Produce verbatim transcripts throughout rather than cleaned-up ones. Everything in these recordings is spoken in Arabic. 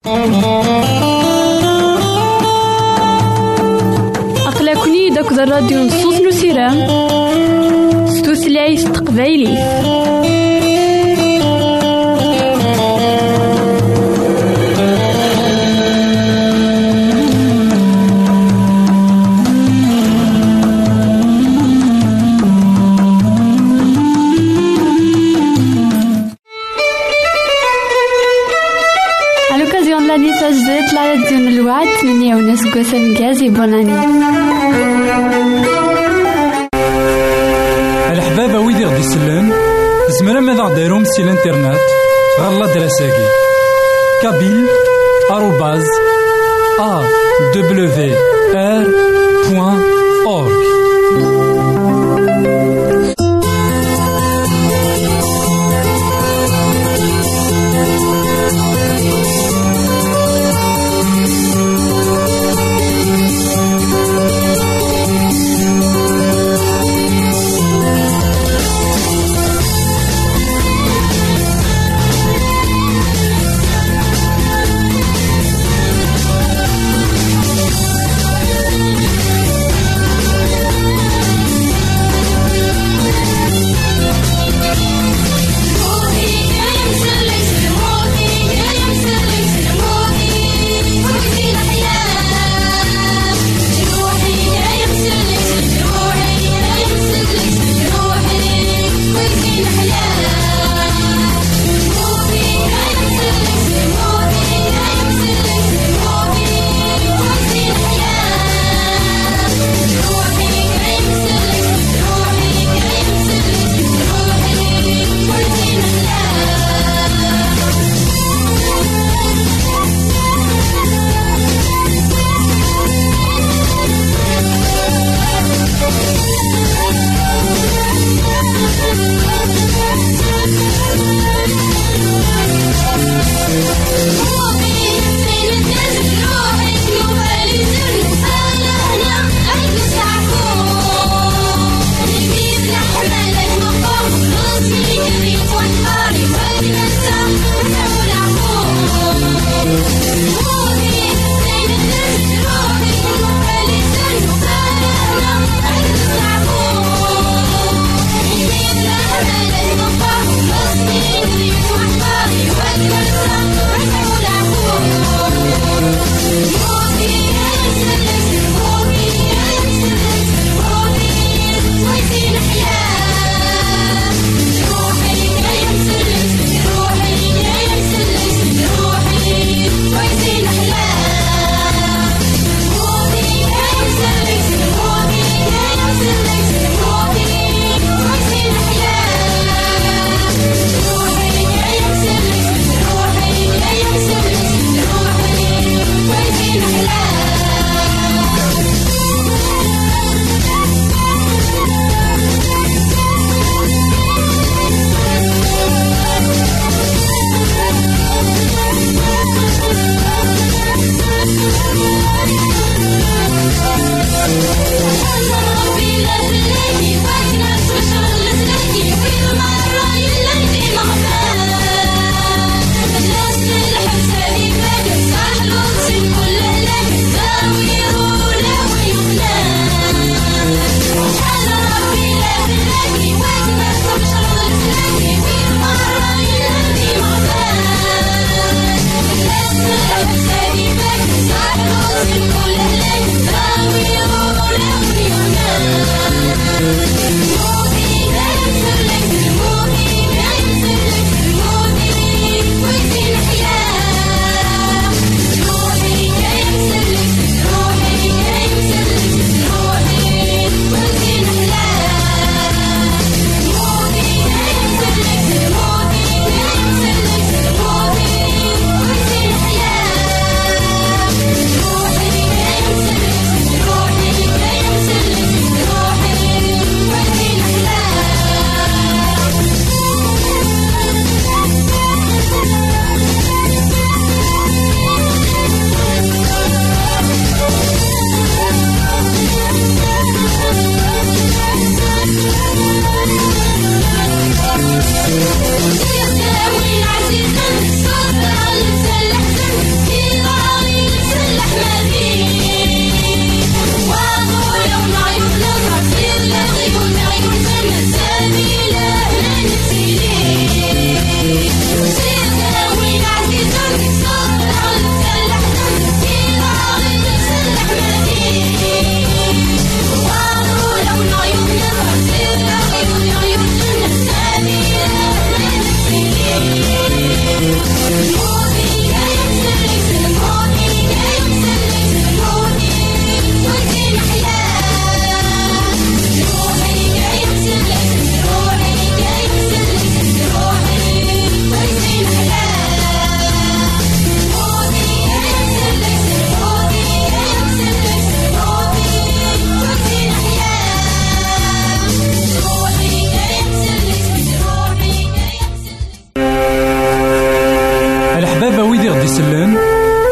أقلكني داك الراديو نصوص نسيرام ستوثلايف تقبايلي. تجديد لا يدين الوعد ثمانية ونص قوسن جازي بوناني. الحبابة ويدي غدي يسلم زمرا ماذا غديرهم سي الانترنت غالا دراساكي كابيل آروباز أ دبليو آر بوان أورك.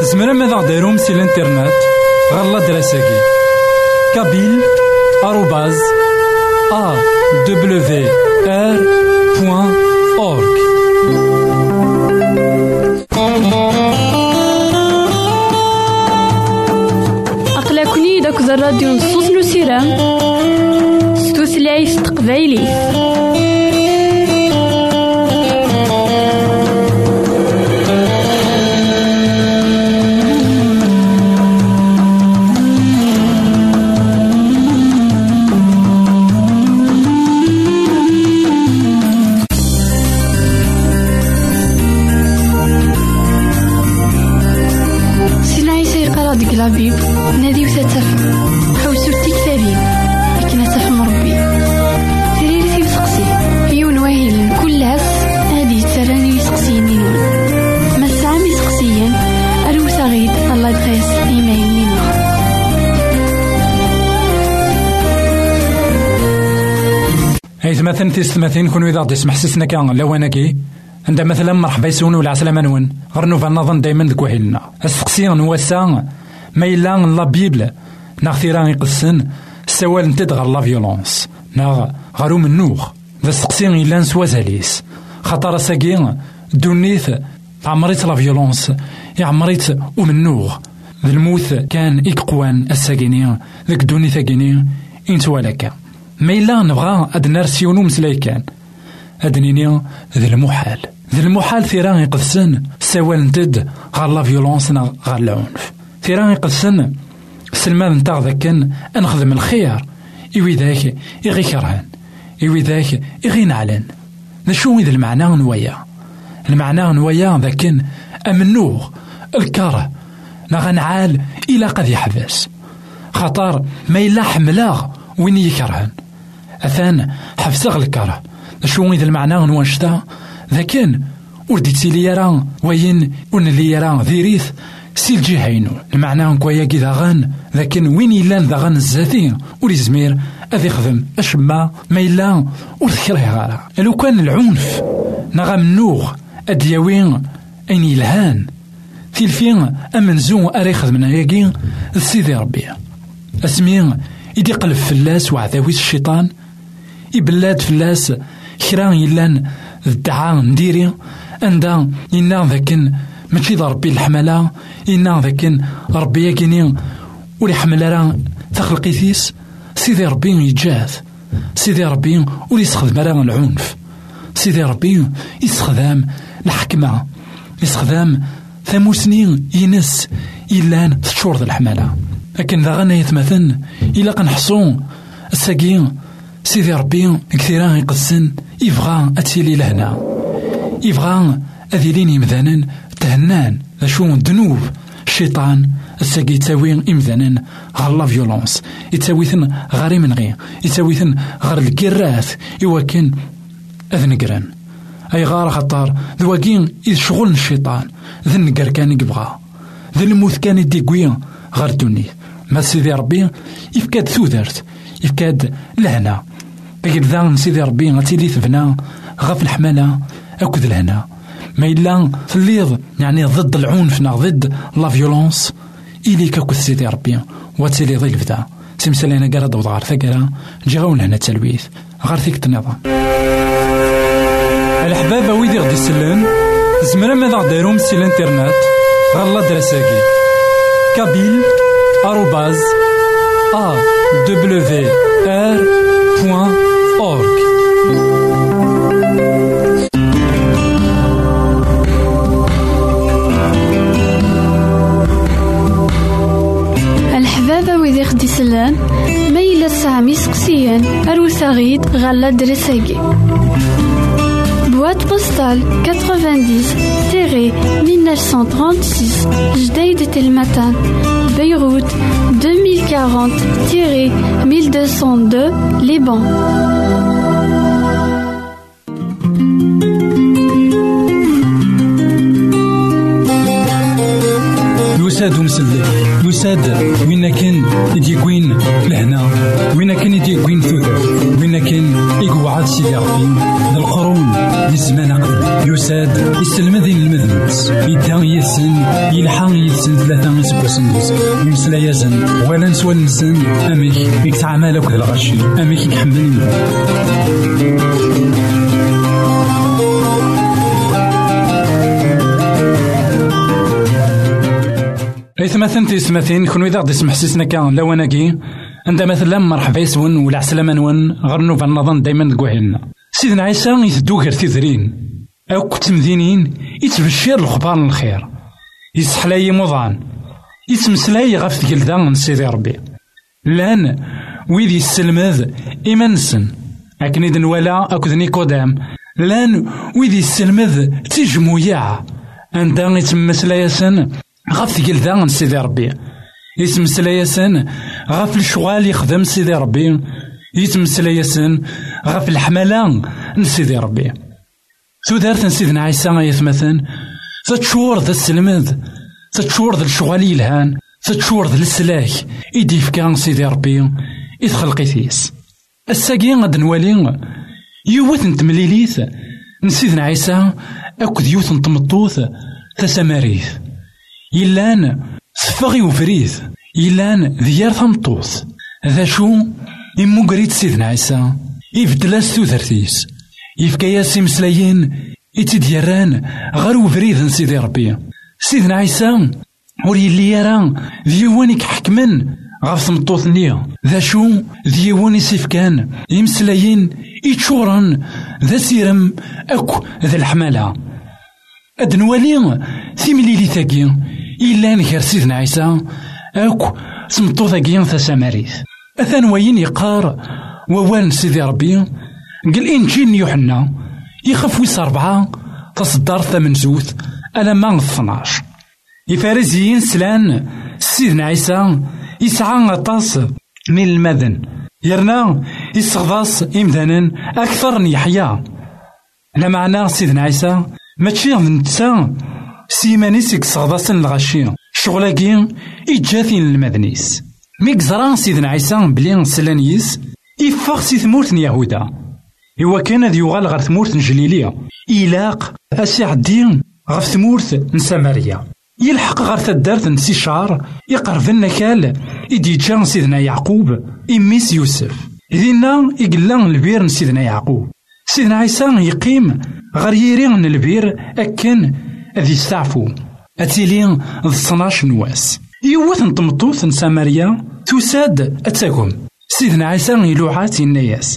زمرا ماذا غديرهم سي الانترنت غالا دراساكي كابيل آروباز أ دبليو آر بوان أورك. أقلكني داك الراديو نصوص نسيران ستوثلايف تقبايلي. نادي وتتفهم حوسو التكتابين لكن تفهم ربي تريرتي وسقسي هي ونواهيل كل هاس هادي تراني يسقسيين نينون ما سامي سقسيين أرو ثغيد الله يدخيس إيمايل نينون. هاي ثمثن تيستمثين كونو إذا غدي يسمح سيسنا كان لواناكي عندما مثلا مرحبا يسون ولا عسلامة نون غرنو فالنظن دايما ذك وحيلنا السقسيين نواسا ما إلا لا بيبل ناغ ثيران يقصن السوال نتد غير لا فيولونس ناغ غارو منوخ ذا السقسيين إلا نسوا زاليس خاطر ساكين دونيث عمريت لا فيولونس يعمريت ومنوخ ذا الموت كان إكقوان الساكينين ذاك دونيث أكينين إنتوا لك ما إلا نبغى أد نرسيونو مسلايكان أدنيني ذا المحال ذا المحال ثيران يقصن السوال نتد غير لا فيولونس ناغ غير العنف ثيران يقصن سلمان نتاع ذاكن نخدم الخير إوي ذاك إغي كرهن إوي ذاك إغي نعلن نشو إذا المعنى نويا المعنى نويا ذاكن أمنوغ الكره نغنعال إلا قد يحبس خطر ما إلا حملاغ وين يكرهن أثان حفصغ الكره نشو إذا المعنى نواشتا ذاكن ورديتي لي يران وين ون لي يران ذيريث سيل جهينو المعنى نكويا كي داغن لكن وين يلان داغن الزاتين ولي زمير اذ يخدم اشما ما يلا ورثكره غارا لو كان العنف نغا منوغ ادياوين اين يلهان تلفين امنزو اريخذ من ياكين سيدي ربي اسمين يدي قلب فلاس وعذاويس الشيطان يبلاد فلاس كران يلان الدعاء نديري عندها ينا ذاكن ماشي ذا ربي الحملة إنا ذاكن ربي ياكيني ولي حملة راه تخلقي ثيس سيدي ربي يجاز سيدي ربي ولي يستخدم راه العنف سيدي ربي يستخدم الحكمة يستخدم ثموسنين ينس إلا تشور ذا الحملة لكن ذا غنى يتمثل إلا كنحصون الساقين سيدي ربي كثيرا يقسن يبغى أتيلي لهنا يبغى أذيلين يمذانا تهنان ذا شو دنوب الشيطان الساقي يتاوي إمذانا غير لا فيولونس يتاويثن غير من غير يتاويثن غير الكراث يوكن أذن قران أي غار خطار ذواقين إذ شغل الشيطان ذا النقر كان يبغى ذا الموت كان يديقوين غير دوني ما سيدي ربي يفكاد ثوذرت يفكاد لهنا بقيت ذا سيدي ربي غتيلي ثبنا غف الحمالة أكد لهنا ما إلا تليض يعني ضد العنف ضد لا فيولونس إلي كاكو سيدي ربي واتسيلي ضيل فدا سيمسالينا قرا دوض غار ثقرا جاون هنا التلويث غار ثيك النظام الحباب ويدي غدي يسلم زمرا ماذا غديرهم سي الانترنت غالا دراساكي كابيل آروباز أ دبليو آر بوان أورك. الحبابة ويدي غدي يسلم ما إلا سامي سقسيان أروسا غيد غالا دراساكي boîte postale quatre-vingt-dix mille neuf cent trente-six Jdeïd Telmatan Beyrouth deux mille quarante mille deux cent deux Liban. يساد ومسلك يساد وين كان يديكوين لهنا وين كان يديكوين ثوثر وين كان يقعد سيدي ربي ذا القرون للزمان قبل يساد يستلمذين المذنبس يدان يسن يلحان يسن ثلاثة سبوسن يمسلا يزن ولا نسوى نسن أميك يكتعمل أكد الغشي أميك يحملني إثما ثنتي سماثين كونو إذا غدي يسمح سيسنا كان لواناكي عندما مثلا مرحبا يسون ولا عسلامة نون غرنو فالنظام دايما دكوهلنا سيدنا عيسى يثدو غير تيذرين أو كتمدينين يتبشر الخبار الخير يسحلاي مضان يتمسلاي غف جلدان سيدي ربي لان ويدي السلمذ إيمانسن أكن إذن ولا أكد نيكودام لان ويدي السلمذ تجمويا عندما يتمسلايسن غف جلدان سيدي ربي يتمسلايسن غف الشغال يخدم سيدي ربي يتمسلايسن غف الحملان نسيدي ربي ثودارت سيدنا عيسى يثمثن تتشور ذا السلمذ تتشور ذا الشغال يلهان تتشور ذا السلاك إيدي فكان سيدي ربي يدخل قيثيس الساقين غد نوالي يوث نتمليليث نسيدنا عيسى أكد يوث نتمطوث تساماريث يلان صفغي وفريث يلان ذيار ثمطوث ذا شو إمو قريت سيدنا عيسى يبدلاس ثوثرتيس يفكاياس مسلايين يتديران غير وفريد سيدي ربي سيدنا عيسى وري اللي يرى ديوانك حكمن غاف ثمطوث نيا ذا شو ديواني سيفكان يمسلايين يتشورن ذا سيرم أكو ذا الحمالة أدنوالي ثمليلي ثاقي إلا نكر سيدنا عيسى أكو سمطو ثاقي ثساماريث أثانوين يقار ووان سيدي ربي قال إنجيل يوحنا يخف ويس أربعة تصدر ثمن زوث ألا ما اثناش يفارزيين سلان سيدنا عيسى يسعى غطاس من المذن يرنا يستغضاس إمذانا أكثر من يحيى لا معنى سيدنا عيسى ماشي نتسا سيمانيس يستغضاس الغشي شغلاكي إجاثين المذنيس ميكزران سيدنا عيسى بلين سلانيس يفاق سي ثمورت يهودا إوا كان ذي يغال غير ثمورت جليلية إلاق أسي عدين غير ثمورت نساماريا يلحق غير ثدارت نسي شعر يقرب النكال إدي جان سيدنا يعقوب إميس يوسف إذنا إقلان البير نسيدنا يعقوب سيدنا عيسى يقيم غير يرين البير أكن أذي يستعفو أتيلين ذصناش نواس يوث نطمطوث نساماريا تساد أتاكم سيدنا عيسى يلوعات الناس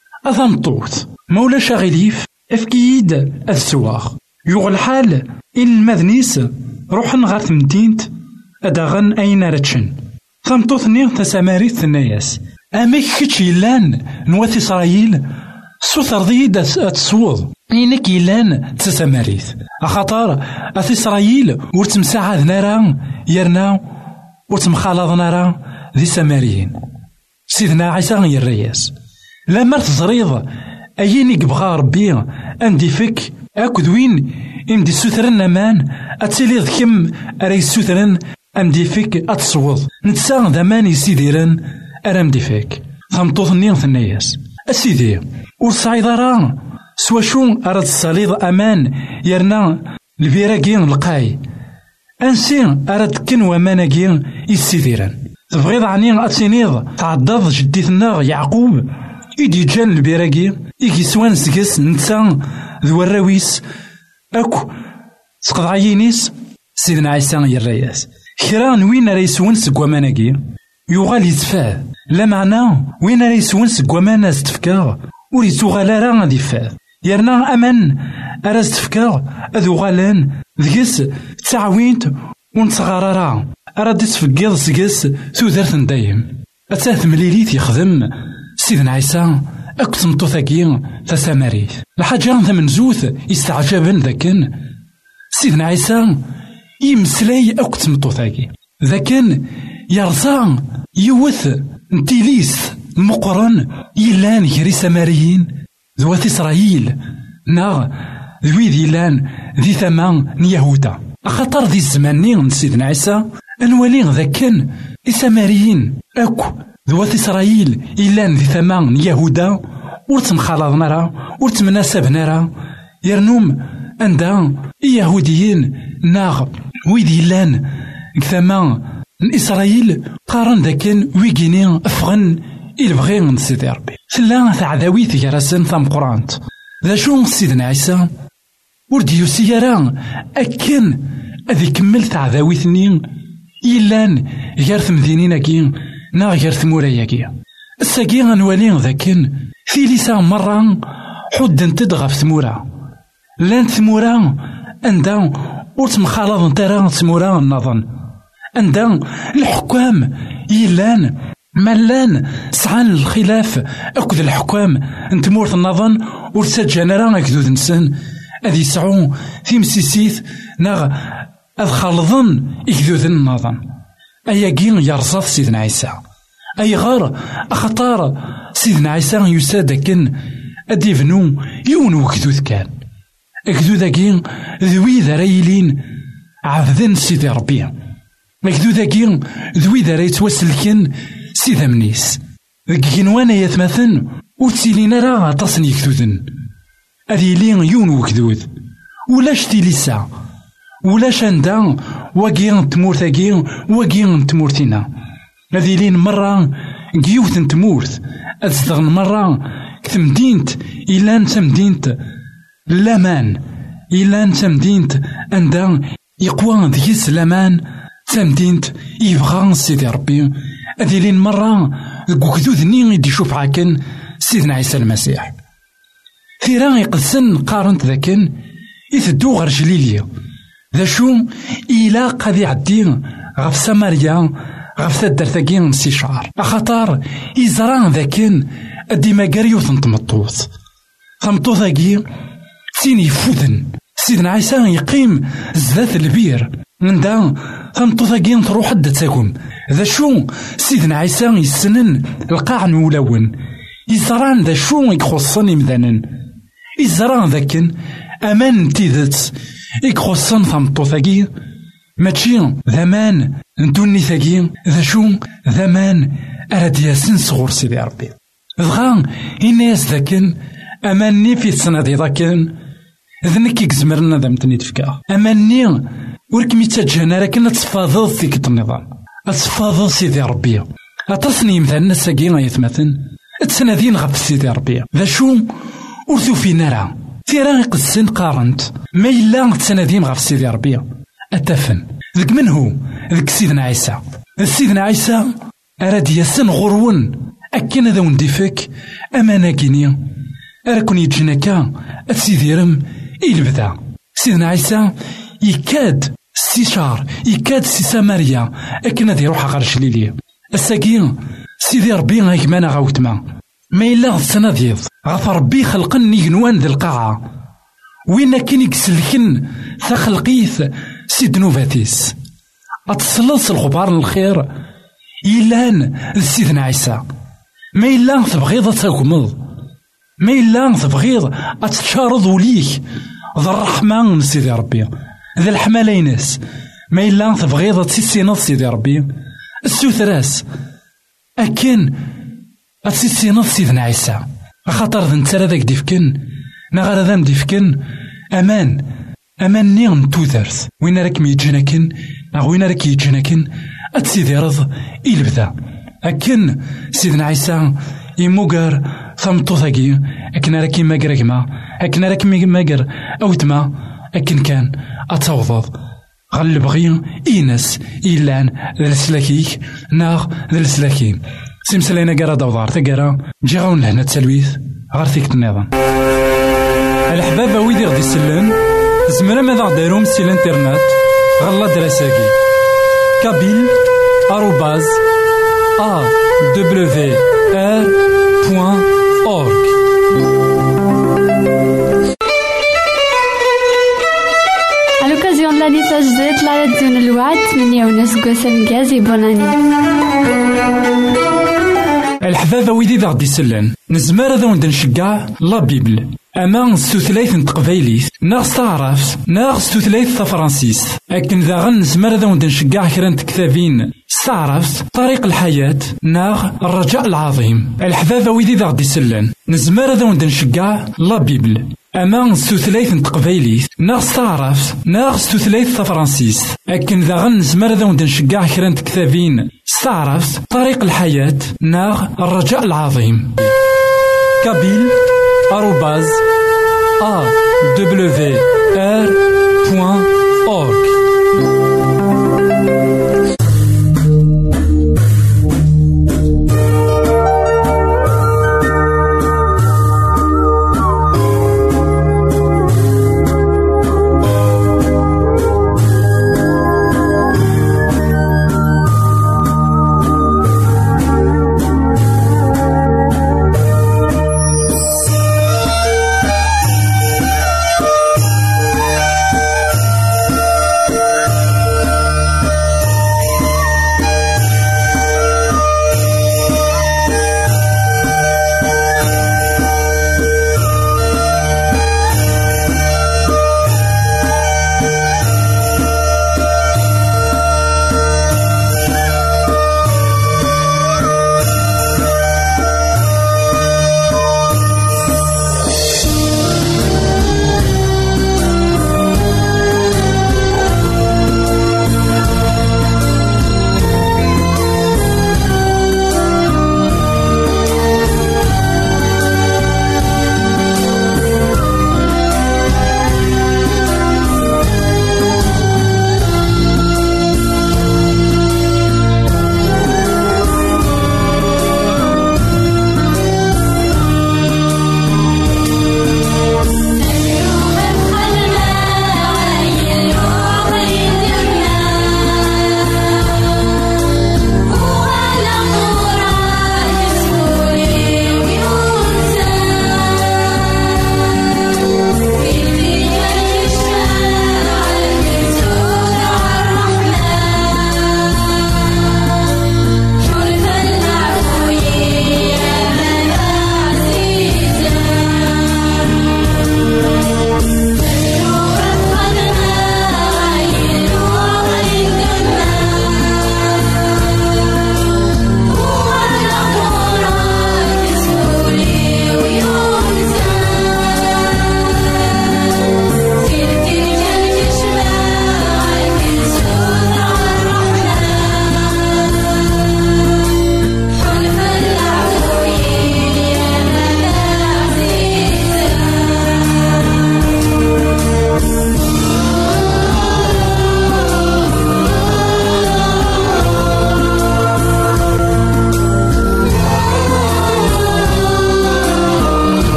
أثمطوث مولا شاغليف أفكيد السواغ يغل الحال إن المذنيس روحن غار ثمدينت أداغن أين رتشن ثمطوث نيغ تساماريث الناس أميك كتش يلان نواث إسرائيل سوثر ضيد أتسوض إنك يلان تساماريث أخطار أث إسرائيل ورتمساعد نارا يرنا ورتمخالض نارا ذي ساماريين سيدنا عيسى غير الرياس لما تزريض أيني قبغا ربي أندي فك أكد وين إمدي سوثرن أمان أتسليض كم أري سوثرن أمدي فك أتصوض نتساغ ذمان يسيديرن أرمدي فك ثمطوث النيغ ثناياس أسيدي ورصعيد راه سوا شو أراد الصليض أمان يرنا البيراكين القاي أنسي أراد كن وماناكين يسيديرن تبغيض عني أتسينيض تعضض جديثنا يعقوب إيدي جان البيراكي إيكي سوان سكس نتسا ذو الراويس أكو سقضعينيس سيدنا عيسى يرياس كران وين ريسون سكواماناكي يغال يتفاه لا معنى وين ريسون سكوامان استفكار وريتو غالا غادي فاه يرنا أمان أراز تفكار أذو غالان ذكس تعوينت ونتغرارا أراد تفكيض سكس ثوثرث دايم أتاث مليليت يخدم سيدنا عيسى أكت مطوثاكي تساماريث الحاجة ثمن زوث يستعجبن ذاكن سيدنا عيسى يمسلاي أكت مطوثاكي ذاكن يرزا يوث نتيليس مقرن يلان يري ساماريين ذوات إسرائيل نا ذوي ذيلان ذي ثمان يهودا خطر ذي الزمان سيدنا عيسى أنوالي ذاكن إساماريين أكو ذوات إسرائيل إلا ذي ثمان يهودا ورتمخالطنا راه ورتمناسبنا راه يرنوم عندها يهوديين ناغ ويدي لان ثمان إسرائيل قارن ذاكن ويجيني أفغن إلبغي سيدي ربي ثلا ثعذاويت جراسن ثم قرانت ذا شو سيدنا عيسى ورديو سيارا أكن أذي كمل ثعذاويتني إلان غير ثمدينين كي نا غير ثمورايا كي الساقي غنوالي ذاكن في لسان مرة حد تدغى في ثمورا لان ثمورا عندها ورتمخالط نترا ثمورا النظن عندها الحكام إلان ملان سعان الخلاف أكد الحكام انتمورت النظن ورسجنا راه أكدود نسن أذي يسعو في مسيسيت ناغ أذ خالضن إكدود النظن أياقين يرصد سيدنا عيسى أي غار أخطار سيدنا عيسى يساد كن أديفنو يونو كدود كان أكدود أكين ذوي ذرايلين عفذن سيدي ربي أكدود أكين ذوي ذراي توسلكن سيدا منيس ذكين وانا يتمثن وتسيلين راه تصني كدودن أذي لين يونو كدود ولاش تيليسا ولاش عندها واقين تمورتاقين واقين تمورتنا هذه لين مرة قيوث تمورت أتستغن مرة كتمدينت إلا نتا مدينت لامان إلا نتا مدينت عندها يقوى ذيس لامان تمدينت يبغى سيدي ربي هذه لين مرة قوكدود نين يدي يشوف عاكن سيدنا عيسى المسيح ثيرا يقدسن قارنت ذاكن يثدو غير جليليا ذا شو إلا قد يعدي غف سماريا غف ثدر ثاقين سي شعر أخطار إزران ذاكن أدي مقاريو تنطمطوط ثمطو ثاقي سين يفوذن سيدنا عيسى يقيم زذات البير من دا ثمطو ثاقين تروح حد تاكم ذا شو سيدنا عيسى يسنن القاع نولون إزران ذا شو يخصني مذنن إزران ذاكن أمان تيذت يخصن ثمطو ثاقي ماشي ذمان ندوني ثاقي ذا شو ذمان أراد ياسن صغور سيدي ربي ذغا إناس ذاكن أماني في السنة دي ذاكن ذنك يكزمرنا ذا متني تفكا أماني وركمي تجهنا لكن تفاضل فيك النظام أتفاضل سيدي ربي أتصني مثلا الساقين يتمثل تسنادين غف سيدي ربي ذا شو ورثو في نارا تيرا يقدسن قارنت ما إلا تسنادين غف سيدي ربي أتفن ذك من هو ذك سيدنا عيسى سيدنا عيسى أراد يسن غرون أكين ذا وندفك أمانا كينيا أراكن يتجنكا أتسيديرم إلبدا سيدنا عيسى يكاد سيشار يكاد سي ساماريا أكين ذا يروح غرش ليليا الساقين سيدي ربي غيكمانا غاوتما ما إلا غصنا ديض غف ربي خلقن يجنوان ذي القاعة وين كان يكسلكن ثخلقيث سيد نوفاتيس أتصلص الغبار الخير إلان سيدنا عيسى ما إلا تبغيض تاكمض ما إلا تبغيض أتشارض وليك ذا الرحمن من سيدي ربي ذا الحمالينس ما إلا تبغيض تسيسينض سيدي ربي السوثراس أكن أتسيسينض سيدنا عيسى خاطر ذا نتسرى ذاك ديفكن نغار ذا مديفكن أمان أمان نيغن توثرث وين راك ميجناكن أو وين راك يجناكن أتسيدي رض إلبدا أكن سيدنا عيسى يموغر ثمطو ثاقي أكن راكي ماقر أكما أكن راكي ماقر أوتما أكن كان أتوضض غل بغي إينس إيلان ذا السلاكيك ناغ ذا السلاكين سيمسلينا قرا دوضار تقرا جي غاون لهنا تسلويث غار فيك النظام الحباب ويدي غدي يسلن زمرا ماذا داروم سي الانترنت غالا دراساكي كابيل آروباز أ دبليو آر بوان أورك. À l'occasion de l'année Sajdet, la radio de l'Ouad, ثمانية ونص قوسم غازي بوناني. الحبابة ويدي ذا غدي يسلن نزمار ذا وند نشقع لا بيبل أما ستوثلايث تقبايليت ناغ ستعرف ناغ ستوثلايث تفرانسيس أكن ذا غنزمر ذا ونشجع كرا كتابين ستعرف طريق الحياة ناغ الرجاء العظيم الحبابة ويدي ذا غدي سلان نزمر ذا ونشجع لا بيبل أما ستوثلايث تقبايليت ناغ ستعرف ناغ ستوثلايث تفرانسيس أكن ذا غنزمر ذا ونشجع كرا كتابين ستعرف طريق الحياة ناغ الرجاء العظيم كابيل آروباز أ دبليو آر بوان